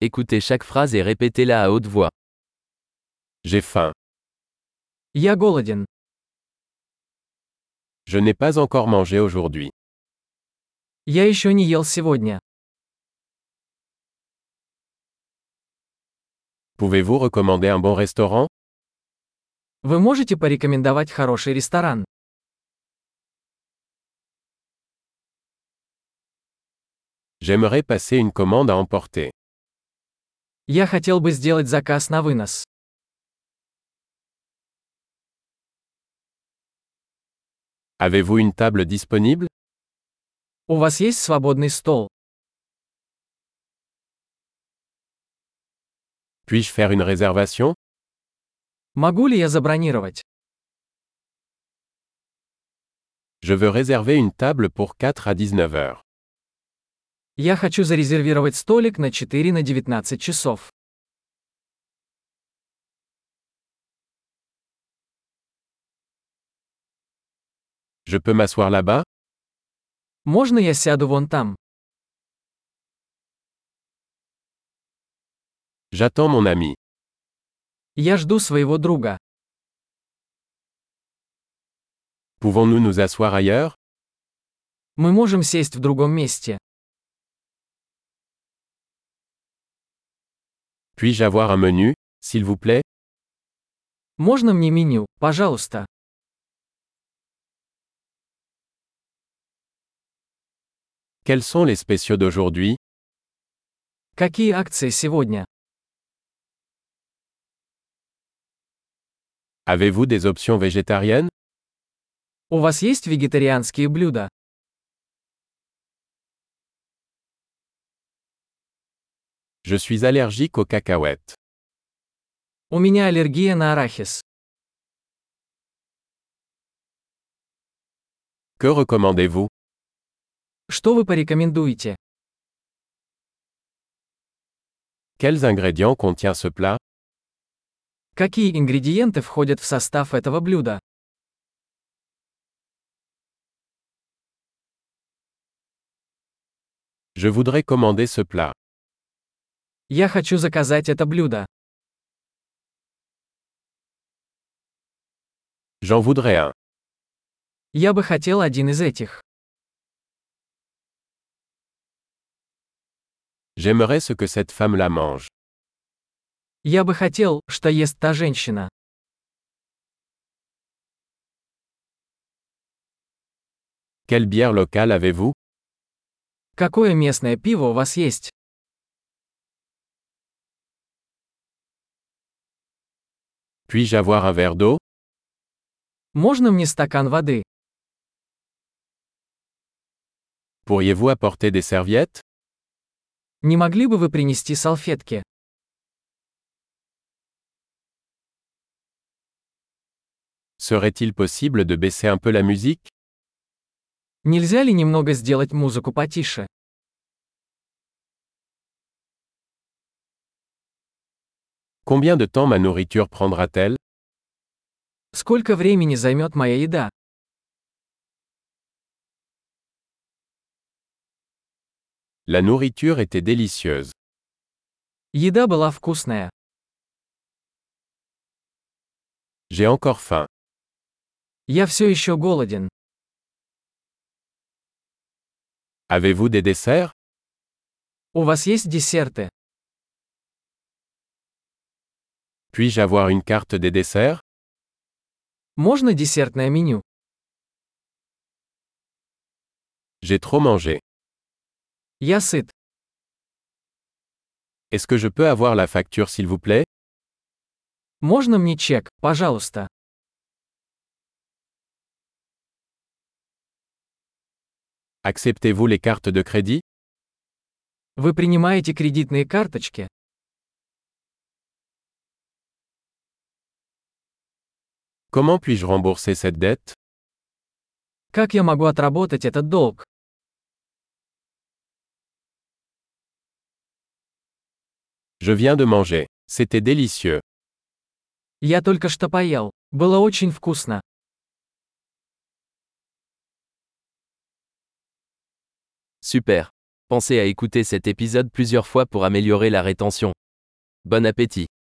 Écoutez chaque phrase et répétez-la à haute voix. J'ai faim. Я голоден. Je n'ai pas encore mangé aujourd'hui. Я еще не ел сегодня. Pouvez-vous recommander un bon restaurant? Вы можете порекомендовать хороший ресторан? J'aimerais passer une commande à emporter. Я хотел бы сделать заказ на вынос. Avez-vous une table disponible? У вас есть свободный стол? Puis-je faire une réservation? Могу ли я забронировать? Je veux réserver une table pour 4 à 19 heures. Я хочу зарезервировать столик на 4 на 19 часов. Je peux m'asseoir là-bas? Можно я сяду вон там? J'attends mon ami. Я жду своего друга. Pouvons-nous nous asseoir ailleurs? Мы можем сесть в другом месте. Puis-je avoir un menu, s'il vous plaît? Можно мне меню, пожалуйста? Quels sont les spéciaux d'aujourd'hui? Какие акции сегодня? Avez-vous des options végétariennes? У вас есть вегетарианские блюда? Je suis allergique aux cacahuètes. У меня аллергия на арахис. Que recommandez-vous? Что вы порекомендуете? Quels ingrédients contient ce plat? Какие ингредиенты входят в состав этого блюда? Je voudrais commander ce plat. Я хочу заказать это блюдо. J'en voudrais un. Я бы хотел один из этих. J'aimerais ce que cette femme la mange. Я бы хотел, что ест та женщина. Quelle bière locale avez-vous? Какое местное пиво у вас есть? Puis-je avoir un verre d'eau? Можно мне стакан воды? Pourriez-vous apporter des serviettes? Не могли бы вы принести салфетки? Serait-il possible de baisser un peu la musique? Нельзя ли немного сделать музыку потише? Combien de temps ma nourriture prendra-t-elle? Сколько времени займет моя еда? La nourriture était délicieuse. Еда была вкусная. J'ai encore faim. Я все еще голоден. Avez-vous des desserts? У вас есть десерты? Puis-je avoir une carte des desserts? Можно десертное меню? J'ai trop mangé. Я сыт. Est-ce que je peux avoir la facture s'il vous plaît? Можно мне чек, пожалуйста? Acceptez-vous les cartes de crédit? Вы принимаете кредитные карточки? Comment puis-je rembourser cette dette? Как я могу отработать этот долг? Je viens de manger. C'était délicieux. Я только что поел. Было очень вкусно. Super. Pensez à écouter cet épisode plusieurs fois pour améliorer la rétention. Bon appétit.